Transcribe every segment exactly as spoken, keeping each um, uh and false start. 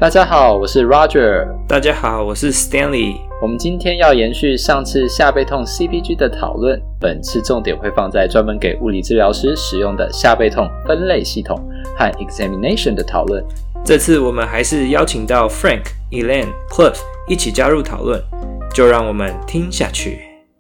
大家好，我是 Roger。 大家好，我是 Stanley。 我们今天要延续上次下背痛 C P G 的讨论，本次重点会放在专门给物理治疗师使用的下背痛分类系统和 examination 的讨论。 这次我们还是邀请到 Frank、Elaine、Cliff 一起加入讨论，就让我们听下去。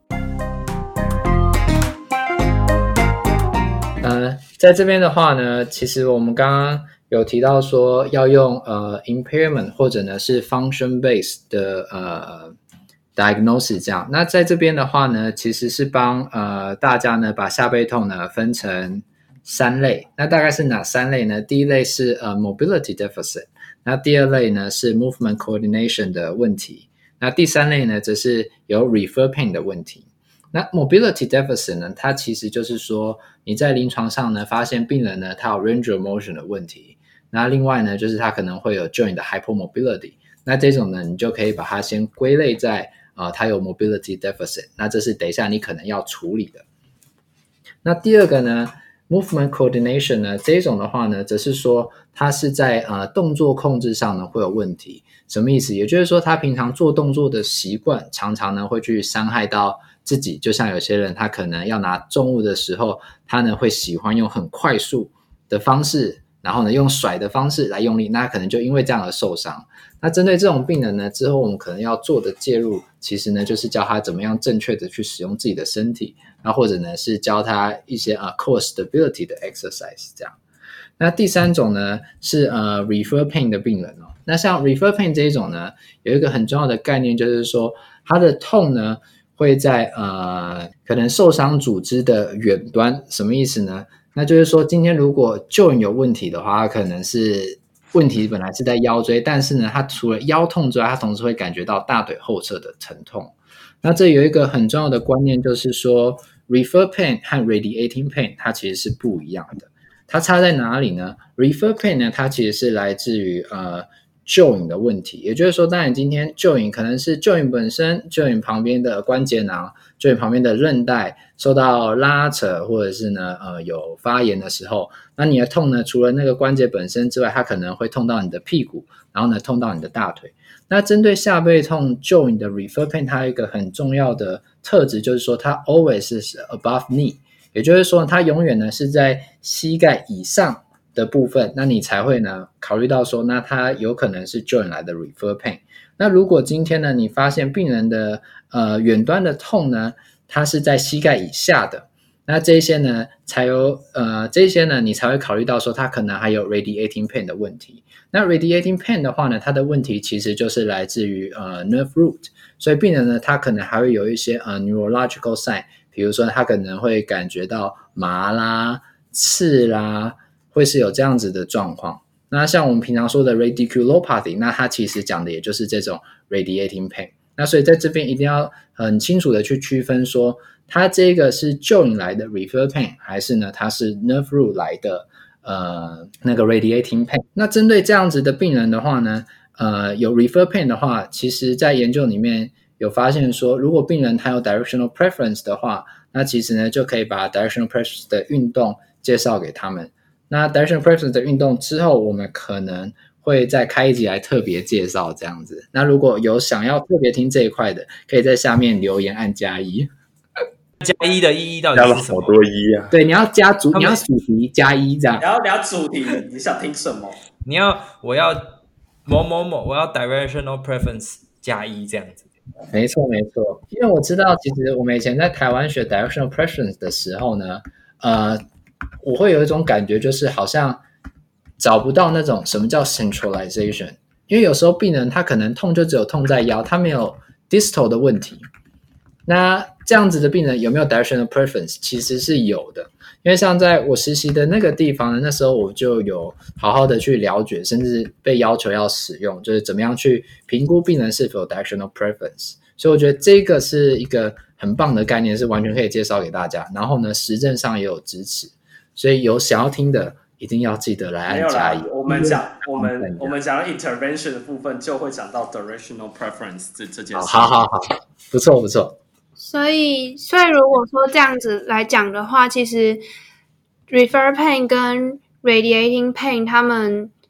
呃，在这边的话呢，其实我们刚刚有提到说要用呃 impairment 或者呢是 function based 的呃 diagnosis 这样。那在这边的话呢，其实是帮呃大家呢把下背痛呢分成三类。那大概是哪三类呢？第一类是呃 mobility deficit， 那第二类呢是 movement coordination 的问题，那第三类呢则是有 refer pain 的问题。那 mobility deficit 呢，它其实就是说你在临床上呢发现病人呢他有 range of motion 的问题，那另外呢就是他可能会有 joint 的 hypermobility， 那这种呢你就可以把它先归类在呃它有 mobility deficit， 那这是等一下你可能要处理的。那第二个呢 movement coordination 呢，这种的话呢则是说它是在呃动作控制上呢会有问题。什么意思？也就是说他平常做动作的习惯常常呢会去伤害到自己，就像有些人他可能要拿重物的时候，他呢会喜欢用很快速的方式，然后呢用甩的方式来用力，那可能就因为这样而受伤。那针对这种病人呢，之后我们可能要做的介入，其实呢就是教他怎么样正确的去使用自己的身体，那或者呢是教他一些呃 core stability 的 exercise 这样。那第三种呢是呃 refer pain 的病人哦。那像 refer pain 这一种呢，有一个很重要的概念，就是说他的痛呢会在呃可能受伤组织的远端。什么意思呢？那就是说今天如果 joint 有问题的话，它可能是问题本来是在腰椎，但是呢它除了腰痛之外，它同时会感觉到大腿后侧的疼痛。那这有一个很重要的观念，就是说 refer pain 和 radiating pain 它其实是不一样的。它差在哪里呢？ refer pain 呢，它其实是来自于呃 joint 的问题，也就是说当然今天 joint 可能是 joint 本身 joint 旁边的关节囊 joint 旁边的韧带受到拉扯，或者是呢呃有发炎的时候，那你的痛呢除了那个关节本身之外，它可能会痛到你的屁股，然后呢痛到你的大腿。那针对下背痛 joint 的 refer pain， 它有一个很重要的特质，就是说它 always is above knee， 也就是说它永远呢是在膝盖以上的部分，那你才会呢考虑到说那它有可能是 joint 来的 refer pain。 那如果今天呢你发现病人的呃远端的痛呢它是在膝盖以下的，那这些呢才有呃这些呢你才会考虑到说它可能还有 radiating pain 的问题。那 radiating pain 的话呢，它的问题其实就是来自于呃 nerve root， 所以病人呢他可能还会有一些呃 neurological sign， 比如说他可能会感觉到麻啦刺啦，会是有这样子的状况。那像我们平常说的 radiculopathy， 那它其实讲的也就是这种 radiating pain。 那所以在这边一定要很清楚的去区分说它这个是 joint 来的 refer pain， 还是呢它是 nerve root 来的呃那个 radiating pain。 那针对这样子的病人的话呢呃有 refer pain 的话，其实在研究里面有发现说，如果病人他有 directional preference 的话，那其实呢就可以把 directional preference 的运动介绍给他们。那 directional preference 的运动之后，我们可能会再开一集来特别介绍这样子。那如果有想要特别听这一块的，可以在下面留言按加一。 加一的意义到底是什么？ 好多一啊！ 对，你要加主，你要主题加一这样。 你要聊主题，你想听什么？ 你要我要某某某，我要 directional preference 加一这样子。 没错没错，因为我知道其实我们以前在台湾学 directional preference 的时候呢，呃，我会有一种感觉，就是好像找不到那种什么叫 centralization， 因为有时候病人他可能痛就只有痛在腰，他没有 distal 的问题。那这样子的病人有没有 directional preference？ 其实是有的，因为像在我实习的那个地方呢，那时候我就有好好的去了解，甚至被要求要使用，就是怎么样去评估病人是否有 directional preference。 所以我觉得这个是一个很棒的概念，是完全可以介绍给大家，然后呢实证上也有支持，所以有想要听的一定要记得来按加一。 我们讲我们我们讲到 intervention 的部分，就会讲到 directional preference 这这件事。 好好好，不错不错。 所以，所以如果说这样子来讲的话，其实 refer pain 跟 radiating pain 他们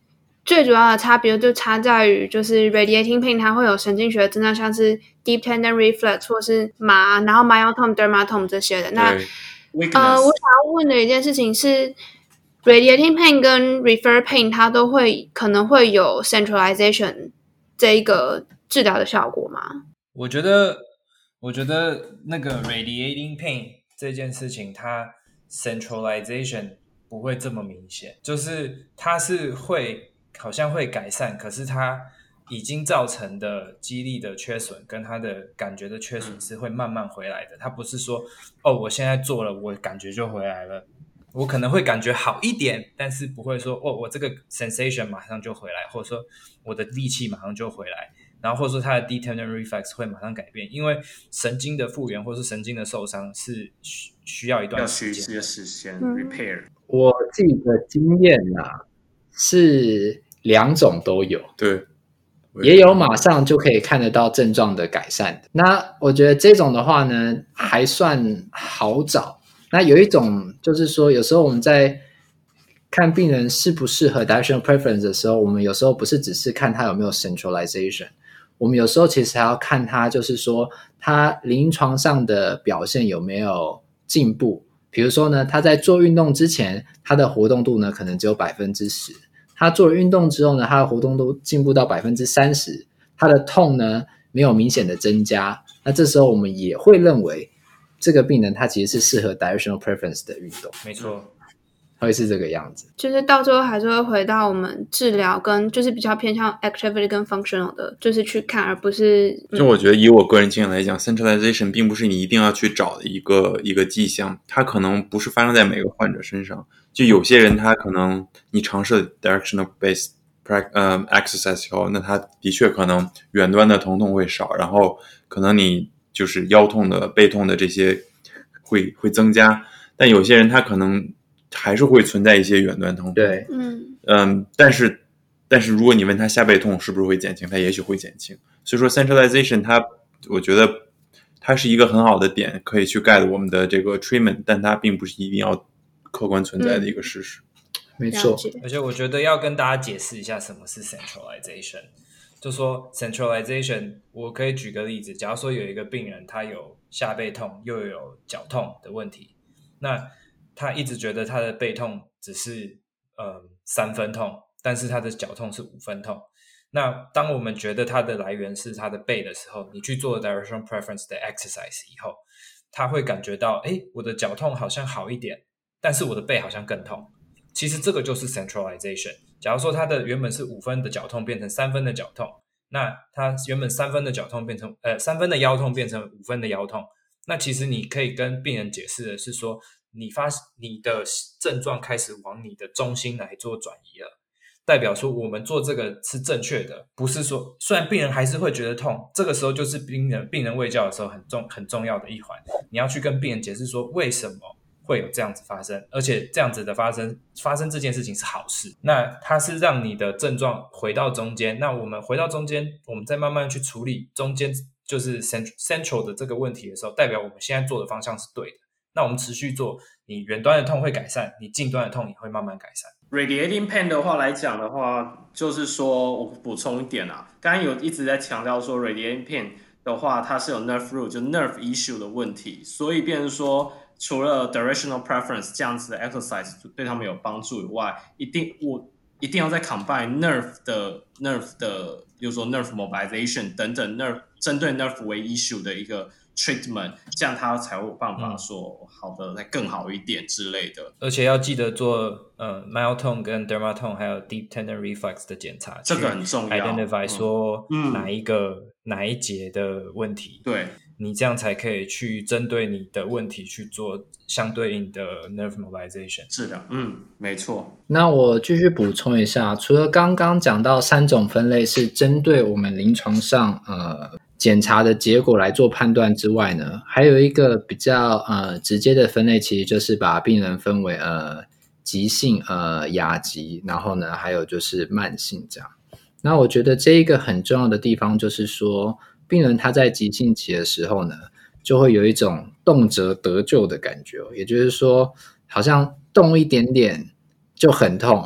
最主要的差别就差在于，就是 radiating pain 它会有神经学的症状，像是 deep tendon reflex 或是麻，然后 myotome dermatome 这些的。那呃，我想要问的一件事情是 radiating pain 跟 refer pain 它都会可能会有 centralization 这一个治疗的效果吗？ 我觉得我觉得那个 radiating pain 这件事情它 centralization 不会这么明显，就是它是会好像会改善，可是它已经造成的肌力的缺损跟它的感觉的缺损是会慢慢回来的。它不是说哦我现在做了我感觉就回来了，我可能会感觉好一点，但是不会说哦我这个 sensation 马上就回来，或者说我的力气马上就回来，然后或者说它的 deep tendon reflex 会马上改变，因为神经的复原或是神经的受伤是需要一段时间， 要需时间 repair。 我自己的经验啊，是两种都有， 对， 也有马上就可以看得到症状的改善的。那我觉得这种的话呢，还算好找。那有一种就是说，有时候我们在看病人适不适合 directional preference 的时候，我们有时候不是只是看他有没有 centralization， 我们有时候其实还要看他就是说他临床上的表现有没有进步。比如说呢，他在做运动之前，他的活动度呢可能只有 百分之十， 他做了运动之后呢，他的活动度进步到 百分之三十， 他的痛呢没有明显的增加，那这时候我们也会认为这个病人他其实是适合 directional preference 的运动。 没错， 会是这个样子， 就是到最后还是会回到我们治疗跟就是比较偏向 activity 跟 functional 的，就是去看，而不是、 嗯、就我觉得以我个人经验来讲 centralization 并不是你一定要去找的一个一个迹象，它可能不是发生在每个患者身上，就有些人他可能你尝试 directional based uh, exercise 以后，那他的确可能远端的疼痛会少，然后可能你就是腰痛的背痛的这些会会增加，但有些人他可能还是会存在一些远端疼痛。 对， 嗯嗯，但是但是如果你问他下背痛是不是会减轻，他也许会减轻。所以说 centralization 它我觉得它是一个很好的点，可以去 guide 我们的这个 treatment， 但它并不是一定要客观存在的一个事实。 嗯、没错。 而且我觉得要跟大家解释一下什么是 centralization。就说 centralization， 我可以举个例子，假如说有一个病人他有下背痛又有脚痛的问题，那他一直觉得他的背痛只是呃三分痛，但是他的脚痛是五分痛。那当我们觉得他的来源是他的背的时候，你去做 directional preference 的 exercise 以后，他会感觉到诶我的脚痛好像好一点，但是我的背好像更痛。其实这个就是 centralization。假如说他的原本是五分的脚痛变成三分的脚痛，那他原本三分的脚痛变成呃三分的腰痛变成五分的腰痛，那其实你可以跟病人解释的是说，你发你的症状开始往你的中心来做转移了，代表说我们做这个是正确的，不是说虽然病人还是会觉得痛，这个时候就是病人病人卫教的时候很重很重要的一环，你要去跟病人解释说为什么会有这样子发生，而且这样子的发生发生这件事情是好事，那它是让你的症状回到中间，那我们回到中间，我们再慢慢去处理中间就是 central 的这个问题的时候，代表我们现在做的方向是对的，那我们持续做，你远端的痛会改善，你近端的痛也会慢慢改善。 Radiating pain 的话来讲的话，就是说我补充一点啊，刚刚有一直在强调说 Radiating pain 的话它是有 nerve root 就 nerve issue 的问题，所以变成说除了 directional preference 这样子的 exercise 对他们有帮助以外，一定我一定要再 combine nerve 的 nerve 的，比如说 nerve mobilization 等等 nerve 针对 nerve 为 issue 的一个 treatment， 这样他才会有办法说好的再更好一点之类的。 而且要记得做呃 myotone 跟 dermatome 还有 deep tendon reflex 的检查， 这个很重要 identify 说哪一个、 嗯、 哪一节的问题， 对， 你这样才可以去针对你的问题去做相对应的 nerve mobilization 治疗。嗯，没错。 那我继续补充一下，除了刚刚讲到三种分类是针对我们临床上呃检查的结果来做判断之外呢，还有一个比较呃直接的分类，其实就是把病人分为呃急性、呃亚急，然后呢还有就是慢性这样。那我觉得这一个很重要的地方就是说，病人他在急性期的时候呢，就会有一种动辄得救的感觉，也就是说好像动一点点就很痛，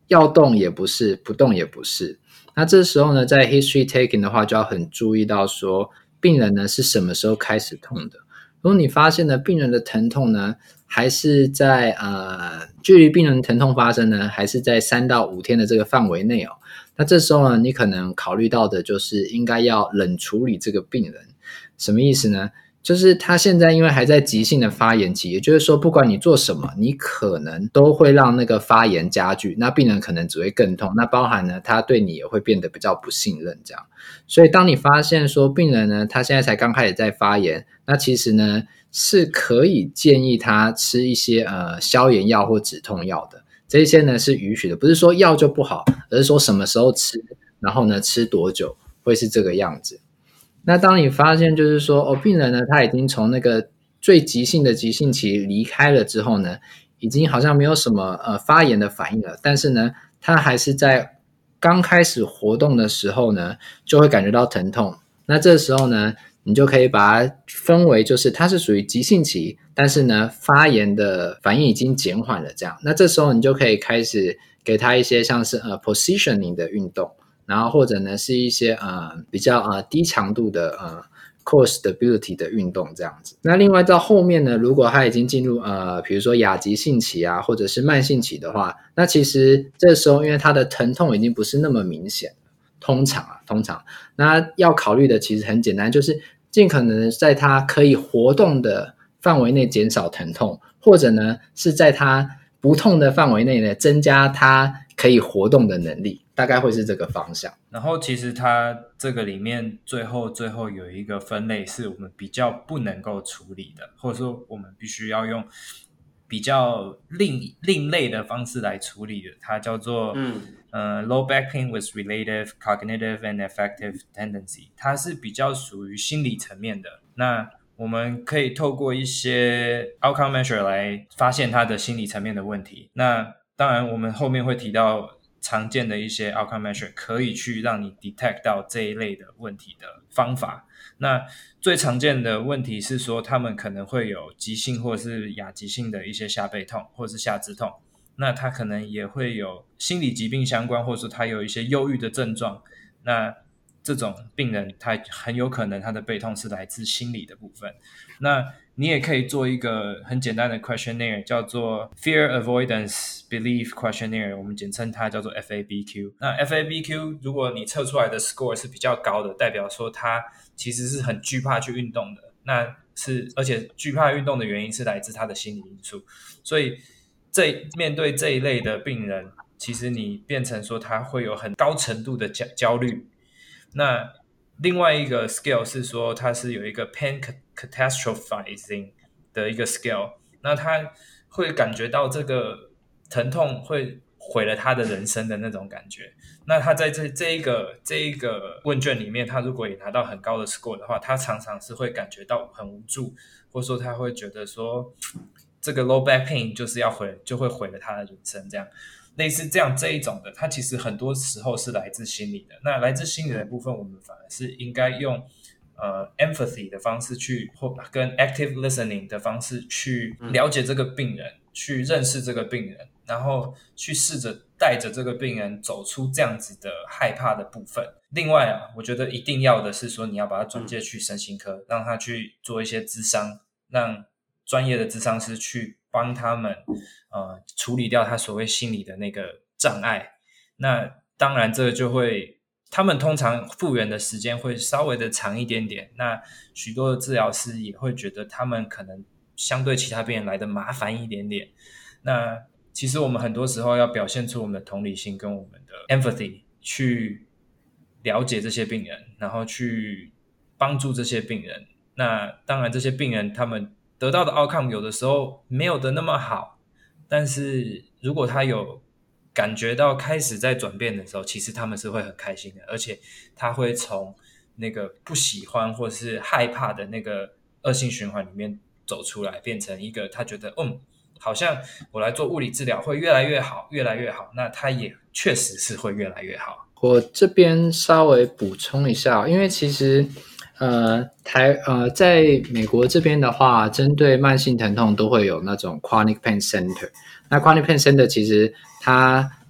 要动也不是，不动也不是。那这时候呢，在 history taking 的话，就要很注意到说，病人呢是什么时候开始痛的。如果你发现呢，病人的疼痛呢，还是在呃，距离病人疼痛发生呢，还是在三到五天的这个范围内哦。那这时候呢，你可能考虑到的就是应该要冷处理这个病人。什么意思呢？就是他现在因为还在急性的发炎期，也就是说不管你做什么，你可能都会让那个发炎加剧，那病人可能只会更痛，那包含呢他对你也会变得比较不信任这样。所以当你发现说病人呢他现在才刚开始在发炎，那其实呢是可以建议他吃一些呃消炎药或止痛药的，这些呢是允许的，不是说药就不好，而是说什么时候吃，然后呢吃多久会是这个样子。那当你发现就是说哦，病人呢他已经从那个最急性的急性期离开了之后呢，已经好像没有什么呃发炎的反应了，但是呢他还是在刚开始活动的时候呢就会感觉到疼痛，那这时候呢你就可以把它分为就是它是属于急性期，但是呢发炎的反应已经减缓了这样。那这时候你就可以开始给他一些像是呃 positioning 的运动，然后或者呢是一些呃比较呃低强度的呃 core stability 的运动这样子。那另外到后面呢，如果他已经进入呃比如说亚急性期啊，或者是慢性期的话，那其实这时候因为他的疼痛已经不是那么明显，通常啊通常那要考虑的其实很简单，就是尽可能在他可以活动的范围内减少疼痛，或者呢是在他不痛的范围内呢增加他可以活动的能力，大概会是这个方向。 然后其实它这个里面最后最后有一个分类是我们比较不能够处理的，或者说我们必须要用比较另另类的方式来处理的，它叫做嗯呃 low back pain with relative cognitive and affective tendency， 它是比较属于心理层面的。那我们可以透过一些 outcome measure 来发现它的心理层面的问题。那当然我们后面会提到常见的一些 outcome measure 可以去让你 detect 到这一类的问题的方法。那最常见的问题是说他们可能会有急性或是亚急性的一些下背痛或是下肢痛，那他可能也会有心理疾病相关，或者说他有一些忧郁的症状，那这种病人他很有可能他的背痛是来自心理的部分。那你也可以做一个很简单的 questionnaire 叫做 Fear Avoidance Belief Questionnaire， 我们简称它叫做 F A B Q。 那 F A B Q 如果你测出来的 score 是比较高的，代表说他其实是很惧怕去运动的，那是而且惧怕运动的原因是来自他的心理因素。所以这面对这一类的病人，其实你变成说他会有很高程度的焦虑。那另外一个 scale 是说它是有一个 pain catastrophizing 的一个 scale， 那他会感觉到这个疼痛会毁了他的人生的那种感觉。那他在这这一个这一个问卷里面，他如果也拿到很高的 score 的话，他常常是会感觉到很无助，或者说他会觉得说这个 low back pain 就是要毁就会毁了他的人生这样。类似这样这一种的，它其实很多时候是来自心理的。那来自心理的部分，我们反而是应该用呃 empathy 的方式去，或跟 active listening 的方式去了解这个病人，嗯、去认识这个病人，然后去试着带着这个病人走出这样子的害怕的部分。另外啊，我觉得一定要的是说，你要把他转介去身心科，嗯、让他去做一些諮商，让专业的諮商师去帮他们呃处理掉他所谓心理的那个障碍。那当然这个就会他们通常复原的时间会稍微的长一点点，那许多的治疗师也会觉得他们可能相对其他病人来的麻烦一点点。那其实我们很多时候要表现出我们的同理心跟我们的 empathy 去了解这些病人，然后去帮助这些病人。那当然这些病人他们得到的 outcome 有的时候没有的那么好，但是如果他有感觉到开始在转变的时候，其实他们是会很开心的，而且他会从那个不喜欢或是害怕的那个恶性循环里面走出来，变成一个他觉得嗯，好像我来做物理治疗会越来越好越来越好，那他也确实是会越来越好。 我这边稍微补充一下，因为其实呃，台呃，在美国这边的话，针对慢性疼痛都会有那种 chronic pain center。那 chronic pain center 其实它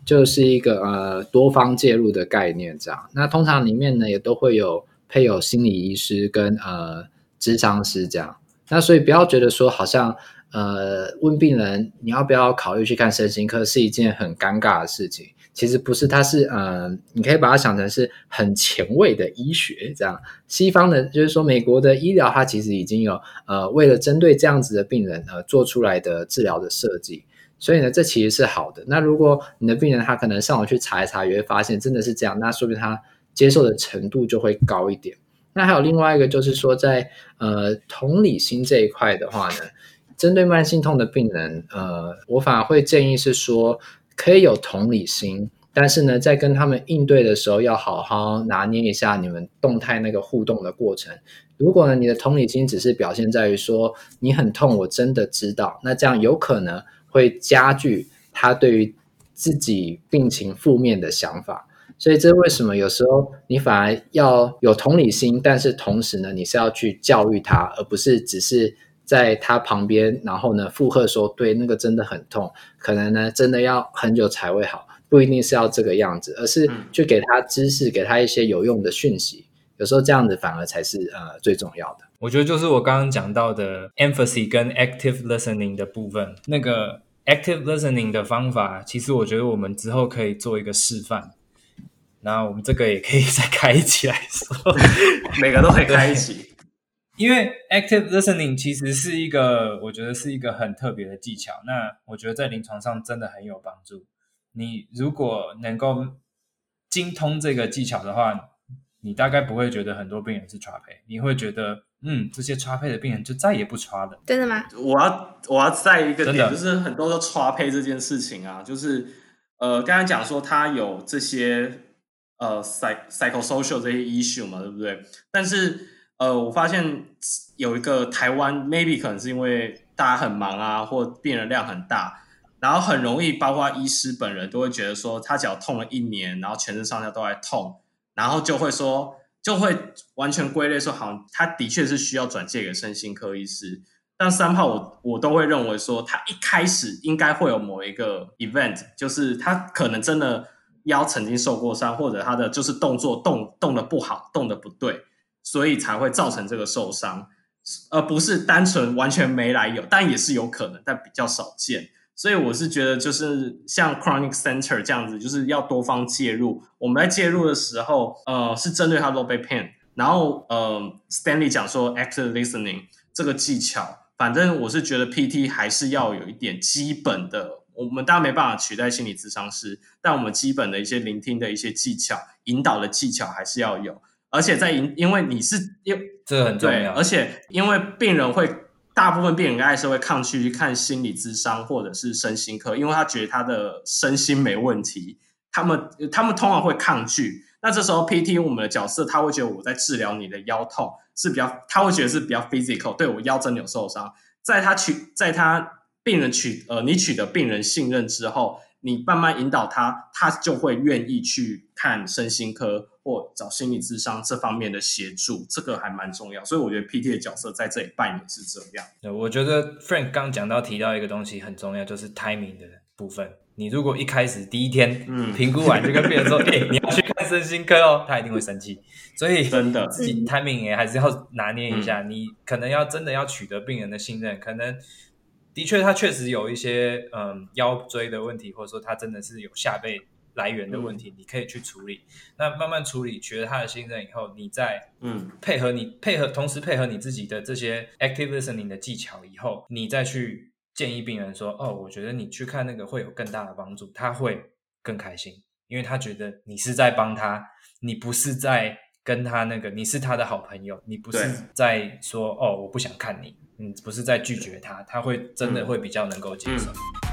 就是一个呃多方介入的概念这样。那通常里面呢也都会有配有心理医师跟呃諮商师这样。那所以不要觉得说好像呃问病人你要不要考虑去看身心科是一件很尴尬的事情。其实不是，它是呃，你可以把它想成是很前卫的医学这样。西方的，就是说美国的医疗，它其实已经有呃，为了针对这样子的病人呃，做出来的治疗的设计。所以呢，这其实是好的。那如果你的病人他可能上网去查一查，也会发现真的是这样，那说不定他接受的程度就会高一点。那还有另外一个就是说在，在呃同理心这一块的话呢，针对慢性痛的病人，呃，我反而会建议是说。可以有同理心，但是呢，在跟他们应对的时候，要好好拿捏一下你们动态那个互动的过程。如果呢，你的同理心只是表现在于说你很痛，我真的知道，那这样有可能会加剧他对于自己病情负面的想法。所以这为什么有时候你反而要有同理心，但是同时呢，你是要去教育他，而不是只是在他旁边，然后呢附和说对那个真的很痛，可能呢真的要很久才会好，不一定是要这个样子，而是去给他知识，给他一些有用的讯息，有时候这样子反而才是呃最重要的。 我觉得就是我刚刚讲到的 empathy 跟 active listening 的部分，那个 active listening 的方法，其实我觉得我们之后可以做一个示范，然后我们这个也可以再开一起来说每个都可以开一起。 因为 active listening 其实是一个，我觉得是一个很特别的技巧。那我觉得在临床上真的很有帮助。你如果能够精通这个技巧的话，你大概不会觉得很多病人是 tra 配，你会觉得，嗯，这些 tra 配的病人就再也不 tra 了。 真的吗？ 我要我要再一个点，就是很多都 tra 配这件事情啊，就是呃，刚才讲说他有这些呃 psychosocial 这些 issue 嘛，对不对？但是呃，我发现有一个台湾 maybe 可能是因为大家很忙啊，或病人量很大，然后很容易包括医师本人都会觉得说他脚痛了一年，然后全身上下都在痛，然后就会说就会完全归类说好像他的确是需要转介给身心科医师。但三炮我我都会认为说他一开始应该会有某一个 event， 就是他可能真的腰曾经受过伤，或者他的就是动作动动得不好，动得不对，所以才会造成这个受伤，而不是单纯完全没来由，但也是有可能，但比较少见。所以我是觉得就是像 Chronic Center 这样子，就是要多方介入。我们在介入的时候呃，是针对他 low back pain， 然后呃 Stanley 讲说 active listening 这个技巧，反正我是觉得 P T 还是要有一点基本的，我们当然没办法取代心理咨商师，但我们基本的一些聆听的一些技巧，引导的技巧还是要有。而且在因为你是这个很重要， 对，而且因为病人会大部分病人还是会抗拒去看心理咨商或者是身心科，因为他觉得他的身心没问题，他们他们通常会抗拒。那这时候 P T 我们的角色，他会觉得我在治疗你的腰痛是比较，他会觉得是比较 physical， 对我腰真的有受伤。在他取在他病人取呃你取得病人信任之后，你慢慢引导他，他就会愿意去看身心科或找心理咨商这方面的协助，这个还蛮重要。所以我觉得 P T 的角色在这里扮演是这样。 对，我觉得 Frank 刚讲到提到一个东西很重要，就是 timing 的部分。你如果一开始第一天评估完就跟病人说，哎、嗯欸，你要去看身心科哦，他一定会生气。所以真的自己 timing 也还是要拿捏一下。嗯、你可能要真的要取得病人的信任，可能的确他确实有一些嗯腰椎的问题，或者说他真的是有下背来源的问题，嗯、你可以去处理。那慢慢处理，取得他的信任以后，你再嗯配合你配合，同时配合你自己的这些 active listening 的技巧以后，你再去建议病人说，哦，我觉得你去看那个会有更大的帮助，他会更开心，因为他觉得你是在帮他，你不是在跟他那个，你是他的好朋友，你不是在说哦我不想看你，你不是在拒绝他，他会真的会比较能够接受。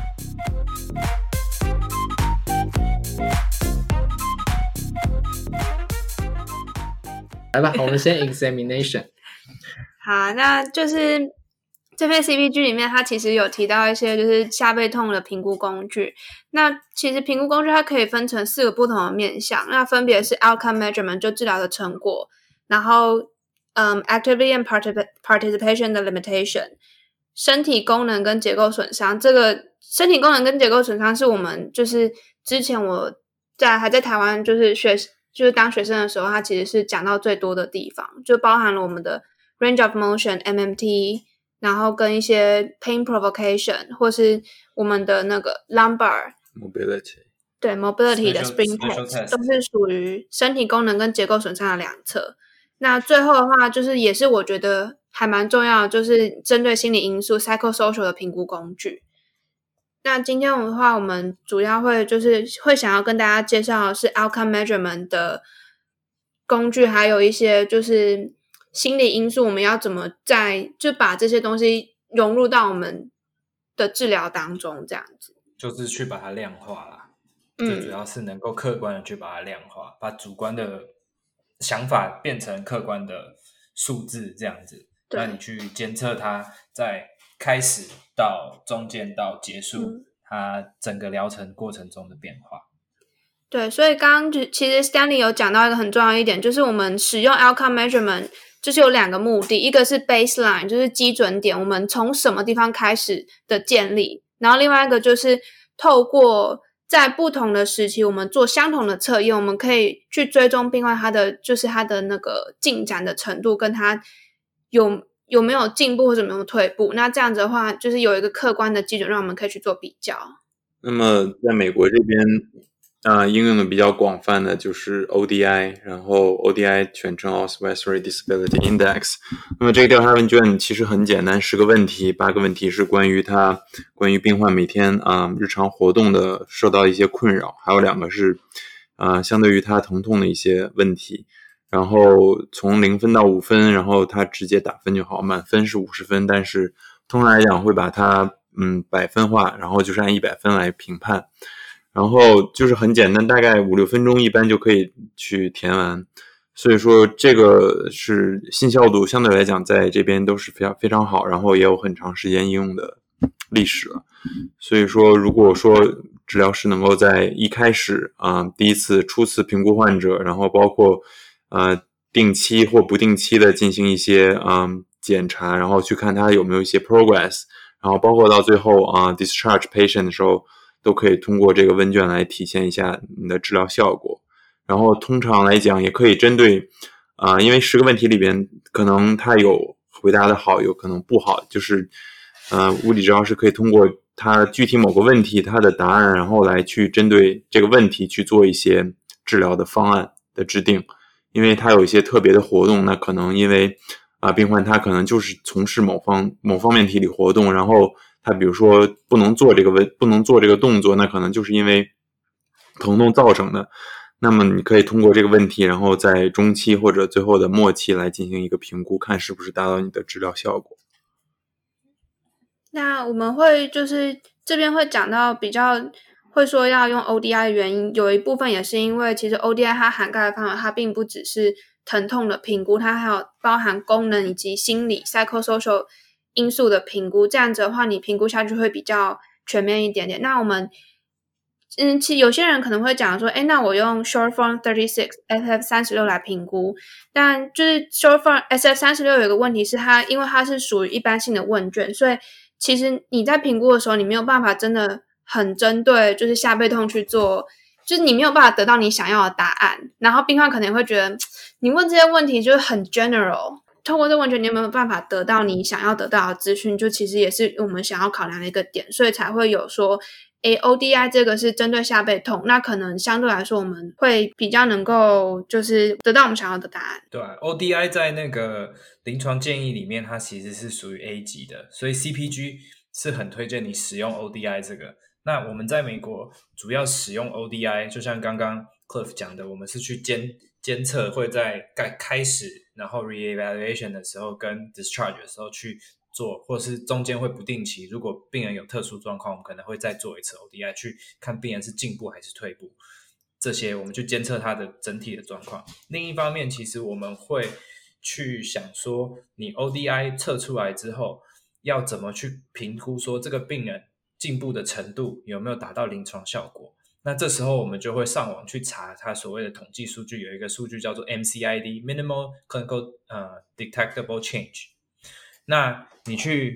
来吧，我们先 examination。 好，那就是这篇 C P G 里面它其实有提到一些就是下背痛的评估工具。那其实评估工具它可以分成四个不同的面向，那分别是 outcome measurement 就治疗的成果，然后、um, activity and participation 的 limitation， 身体功能跟结构损伤，这个身体功能跟结构损伤是我们就是之前我在还在台湾就是学就是当学生的时候，它其实是讲到最多的地方，就包含了我们的 range of motion M M T， 然后跟一些 pain provocation 或是我们的那个 lumbar mobility， 对 mobility 的 spring test 都是属于身体功能跟结构损伤的两侧。那最后的话就是也是我觉得还蛮重要的，就是针对心理因素 psychosocial 的评估工具。那今天的话我们主要会就是会想要跟大家介绍的是 outcome measurement 的工具，还有一些就是心理因素我们要怎么在就把这些东西融入到我们的治疗当中，这样子就是去把它量化啦。最主要是能够客观的去把它量化，把主观的想法变成客观的数字，这样子那你去监测它在开始到中间到结束、嗯、它整个疗程过程中的变化。 对，所以刚刚其实 Stanley 有讲到一个很重要一点，就是我们使用 outcome measurement 就是有两个目的，一个是 baseline 就是基准点，我们从什么地方开始的建立，然后另外一个就是透过在不同的时期我们做相同的测验，我们可以去追踪病患他的就是他的那个进展的程度跟他有有没有进步或者有没有退步，那这样子的话就是有一个客观的基准让我们可以去做比较。 那么在美国这边啊、呃，应用的比较广泛的就是 O D I， 然后 O D I 全称 Oswestry Disability Index。那么这个调查问卷其实很简单，十个问题，八个问题是关于他关于病患每天啊、呃、日常活动的受到一些困扰，还有两个是啊、呃、相对于他疼痛的一些问题。然后从零分到五分，然后他直接打分就好，满分是五十分，但是通常来讲会把它嗯百分化，然后就是按一百分来评判。然后就是很简单，大概五六分钟一般就可以去填完，所以说这个是信效度相对来讲在这边都是非常非常好，然后也有很长时间应用的历史了。所以说如果说治疗师能够在一开始啊、呃、第一次初次评估患者，然后包括呃定期或不定期的进行一些嗯、呃、检查，然后去看他有没有一些 progress， 然后包括到最后啊、呃、discharge patient 的时候都可以通过这个问卷来体现一下你的治疗效果。然后通常来讲也可以针对啊、呃，因为十个问题里边可能他有回答的好，有可能不好，就是呃物理治疗师可以通过他具体某个问题他的答案，然后来去针对这个问题去做一些治疗的方案的制定。因为他有一些特别的活动，那可能因为啊、呃、病患他可能就是从事某方某方面体力活动，然后他比如说不能做这个问不能做这个动作，那可能就是因为疼痛造成的。那么你可以通过这个问题，然后在中期或者最后的末期来进行一个评估，看是不是达到你的治疗效果。 那我们会就是这边会讲到比较会说要用 O D I 的原因，有一部分也是因为其实 O D I 它涵盖的范围它并不只是疼痛的评估，它还有包含功能以及心理 psychosocial 因素的评估，这样子的话你评估下去会比较全面一点点。那我们嗯，其实有些人可能会讲说，诶，那我用 short form thirty-six S F 三十六来评估，但就是 short form S F 三十六有一个问题是它因为它是属于一般性的问卷，所以其实你在评估的时候你没有办法真的很针对就是下背痛去做，就是你没有办法得到你想要的答案，然后病患可能会觉得你问这些问题就是很 general， 透过这问卷你有没有办法得到你想要得到的资讯，就其实也是我们想要考量的一个点，所以才会有说诶 O D I 这个是针对下背痛，那可能相对来说我们会比较能够就是得到我们想要的答案。 对、啊、O D I 在那个临床建议里面它其实是属于 A 级的，所以 C P G 是很推荐你使用 O D I 这个。那我们在美国主要使用 O D I， 就像刚刚 Cliff 讲的，我们是去监监测会在开始然后 re-evaluation 的时候跟 discharge 的时候去做，或者是中间会不定期，如果病人有特殊状况我们可能会再做一次 O D I 去看病人是进步还是退步，这些我们去监测他的整体的状况。另一方面其实我们会去想说你 O D I 测出来之后要怎么去评估说这个病人进步的程度有没有达到临床效果。那这时候我们就会上网去查它所谓的统计数据，有一个数据叫做 M C I D Minimal Clinical、uh, Detectable Change。那你去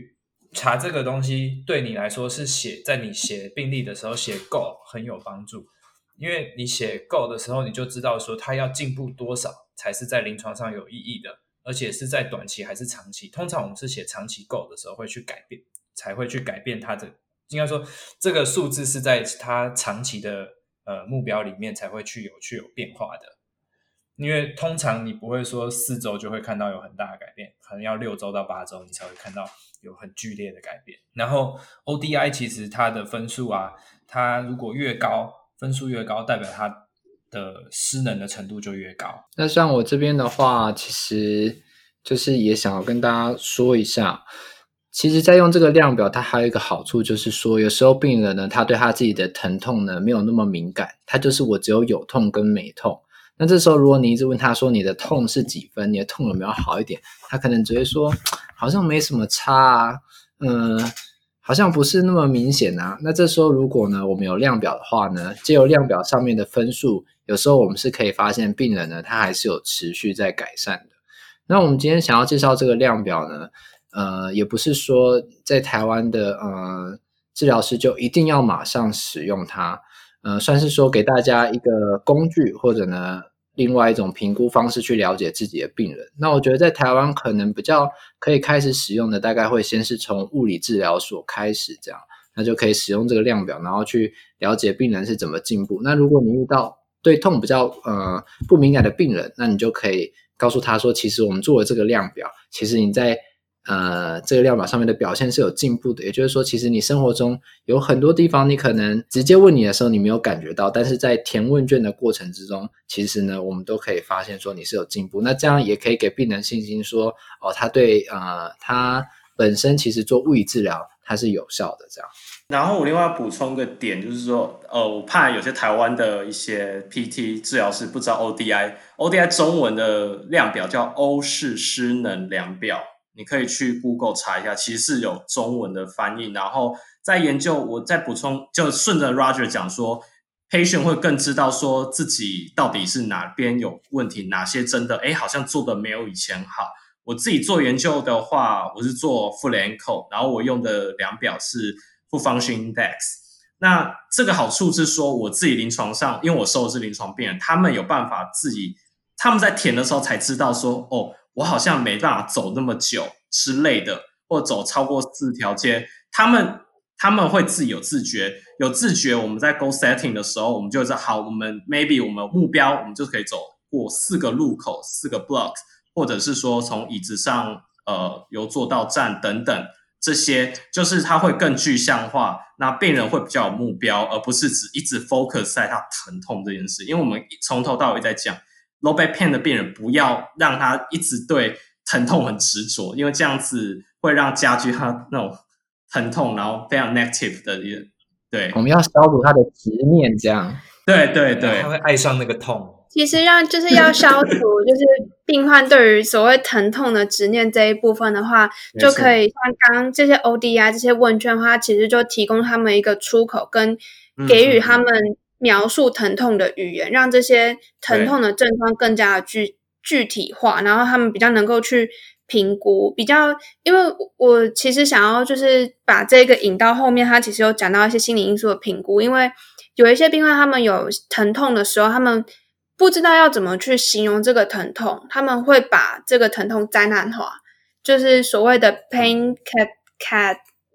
查这个东西对你来说是写在你写病历的时候写 Go 很有帮助，因为你写 Go 的时候你就知道说它要进步多少才是在临床上有意义的，而且是在短期还是长期。通常我们是写长期 Go 的时候会去改变，才会去改变它的，应该说这个数字是在它长期的呃目标里面才会去有去有变化的。因为通常你不会说四周就会看到有很大的改变，可能要六周到八周你才会看到有很剧烈的改变。然后 O D I 其实它的分数啊，它如果越高，分数越高，代表它的失能的程度就越高。 那像我这边的话，其实就是也想要跟大家说一下，其实在用这个量表它还有一个好处，就是说有时候病人呢，他对他自己的疼痛呢没有那么敏感，他就是我只有有痛跟没痛。那这时候如果你一直问他说你的痛是几分，你的痛有没有好一点，他可能只会说好像没什么差啊，嗯，好像不是那么明显啊。那这时候如果呢我们有量表的话呢，藉由量表上面的分数，有时候我们是可以发现病人呢他还是有持续在改善的。那我们今天想要介绍这个量表呢，呃，也不是说在台湾的呃治疗师就一定要马上使用它，呃，算是说给大家一个工具，或者呢另外一种评估方式去了解自己的病人。那我觉得在台湾可能比较可以开始使用的，大概会先是从物理治疗所开始，这样那就可以使用这个量表，然后去了解病人是怎么进步。那如果你遇到对痛比较呃不敏感的病人，那你就可以告诉他说，其实我们做了这个量表，其实你在呃，这个量表上面的表现是有进步的。也就是说，其实你生活中有很多地方你可能直接问你的时候你没有感觉到，但是在填问卷的过程之中，其实呢我们都可以发现说你是有进步。那这样也可以给病人信心说，哦，他对呃他本身其实做物理治疗它是有效的这样。 然后我另外补充个点，就是说呃，我怕有些台湾的一些 P T 治疗师不知道 O D I O D I 中文的量表叫欧式失能量表，你可以去 Google 查一下，其实是有中文的翻译。然后在研究，我再补充，就顺着 Roger 讲说 patient 会更知道说自己到底是哪边有问题，哪些真的诶好像做的没有以前好。我自己做研究的话，我是做 foot and ankle， 然后我用的量表是 foot function index。 那这个好处是说我自己临床上，因为我收的是临床病人，他们有办法自己，他们在填的时候才知道说，哦，我好像没办法走那么久之类的，或走超过四条街，他们他们会自己有自觉，有自觉。我们在 goal setting 的时候，我们就知道，好，我们 maybe 我们目标，我们就可以走过四个路口，四个 block， 或者是说从椅子上呃由坐到站等等，这些就是它会更具象化，那病人会比较有目标，而不是只一直 focus 在他疼痛这件事。因为我们从头到尾在讲low back pain 的病人，不要让他一直对疼痛很执着，因为这样子会让加剧他那种疼痛，然后非常 negative 的一个，对， 我们要消除他的执念，这样， 对对对， 他会爱上那个痛。 其实让就是要消除，就是病患对于所谓疼痛的执念这一部分的话，就可以像刚刚这些 O D I 这些问卷的话，其实就提供他们一个出口，跟给予他们描述疼痛的语言，让这些疼痛的症状更加的具具体化，然后他们比较能够去评估，比较，因为我其实想要就是把这个引到后面，他其实有讲到一些心理因素的评估，因为有一些病患他们有疼痛的时候，他们不知道要怎么去形容这个疼痛，他们会把这个疼痛灾难化，就是所谓的 pain cat cat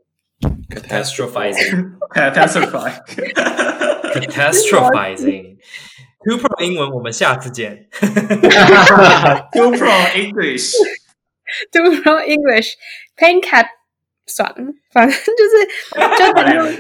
catastrophizing catastrophizing catastrophizing two pro 英文我们下次见 two pro English two pro English pain cat 算了，反正就是就很用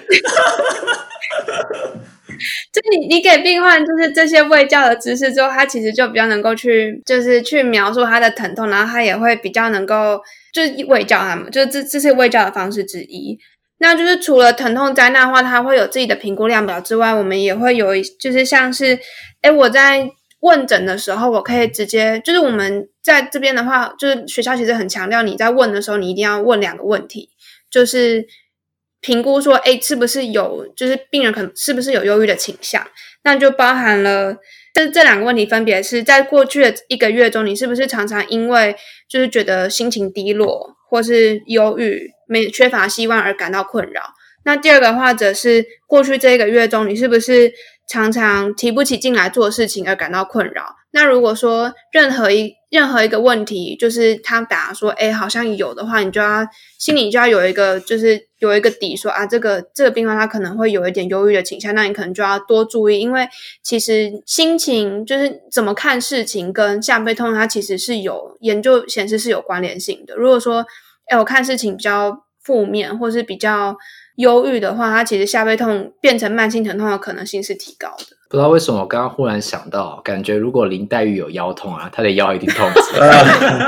就你你给病患就是这些卫教的知识之后，他其实就比较能够去就是去描述他的疼痛，然后他也会比较能够就是卫教他们，就是这这是卫教的方式之一。那就是除了疼痛灾难的话，他会有自己的评估量表之外，我们也会有就是像是诶我在问诊的时候，我可以直接就是我们在这边的话，就是学校其实很强调你在问的时候，你一定要问两个问题，就是评估说，诶是不是有，就是病人可能是不是有忧郁的倾向？那就包含了这这两个问题，分别是在过去的一个月中，你是不是常常因为就是觉得心情低落，或是忧郁， 没缺乏希望而感到困扰。那第二个的话则是过去这一个月中你是不是常常提不起劲来做事情而感到困扰。那如果说任何一任何一个问题就是他打说诶好像有的话，你就要心里就要有一个就是有一个底说啊这个这个病患他可能会有一点忧郁的倾向，那你可能就要多注意，因为其实心情就是怎么看事情跟下背痛它其实是有研究显示是有关联性的。如果说诶我看事情比较负面或是比较忧郁的话，它其实下背痛变成慢性疼痛的可能性是提高的。 不知道为什么我刚刚忽然想到，感觉如果林黛玉有腰痛啊，她的腰一定痛死了。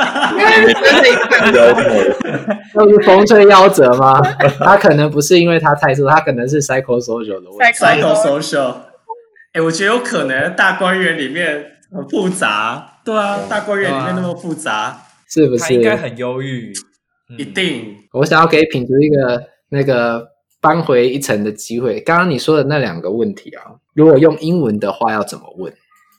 那是风吹夭折吗？她可能不是因为她太瘦，她可能是 psychosocial 的问题。 psychosocial， 哎，我觉得有可能大观园里面很复杂。对啊，大观园里面那么复杂， 是不是？ 她应该很忧郁， 嗯、一定。 我想要给品竹一个那个扳回一城的机会。刚刚你说的那两个问题啊，如果用英文的话要怎么问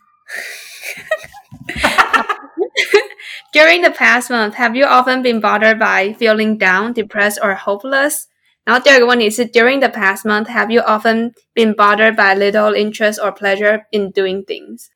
？During the past month, have you often been bothered by feeling down, depressed, or hopeless? 然后第二个问题是 During the past month, have you often been bothered by little interest or pleasure in doing things?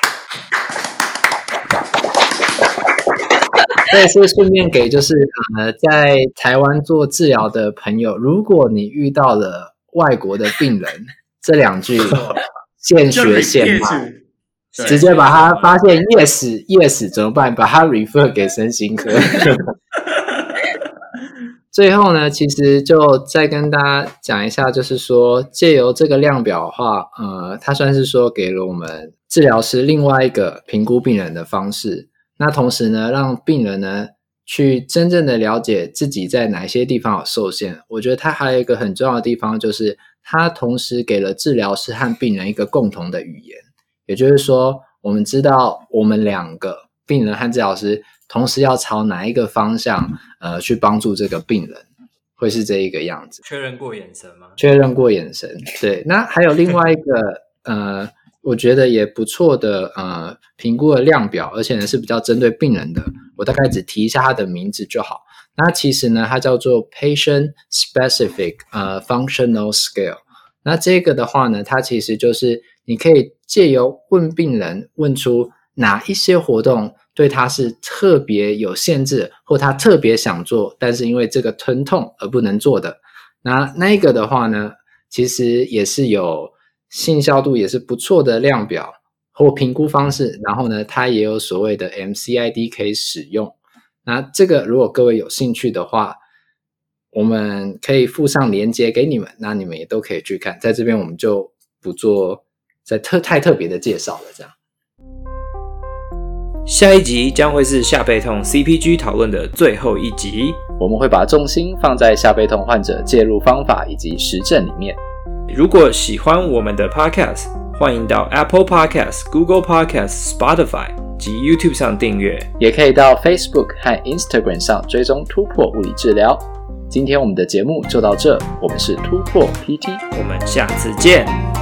这也是顺便给就是呃在台湾做治疗的朋友，如果你遇到了外国的病人，这两句现学现卖，直接把他发现 yes yes 怎么办？把他 refer 给身心科。最后呢，其实就再跟大家讲一下，就是说借由这个量表的话，呃，它算是说给了我们治疗师另外一个评估病人的方式。那同时呢，让病人呢去真正的了解自己在哪些地方有受限。我觉得它还有一个很重要的地方，就是它同时给了治疗师和病人一个共同的语言。也就是说，我们知道我们两个病人和治疗师同时要朝哪一个方向呃去帮助这个病人，会是这一个样子。 确认过眼神吗？ 确认过眼神，对。那还有另外一个呃我觉得也不错的呃评估的量表，而且呢是比较针对病人的，我大概只提一下它的名字就好。那其实呢它叫做 Patient Specific 呃 Functional Scale。那这个的话呢，它其实就是你可以借由问病人问出哪一些活动对他是特别有限制，或他特别想做，但是因为这个疼痛而不能做的。那那一个的话呢，其实也是有信效度也是不错的量表或评估方式，然后呢它也有所谓的 M C I D 可以使用。那这个如果各位有兴趣的话，我们可以附上连结给你们，那你们也都可以去看，在这边我们就不做再特太特别的介绍了。这样下一集将会是下背痛 C P G 讨论的最后一集， 我们会把重心放在下背痛患者介入方法以及实证里面。 如果喜欢我们的 Podcast， 欢迎到 Apple Podcast、Google Podcast、Spotify 及 YouTube 上订阅， 也可以到 Facebook 和 Instagram 上追踪突破物理治疗。今天我们的节目就到这，我们是突破 P T， 我们下次见。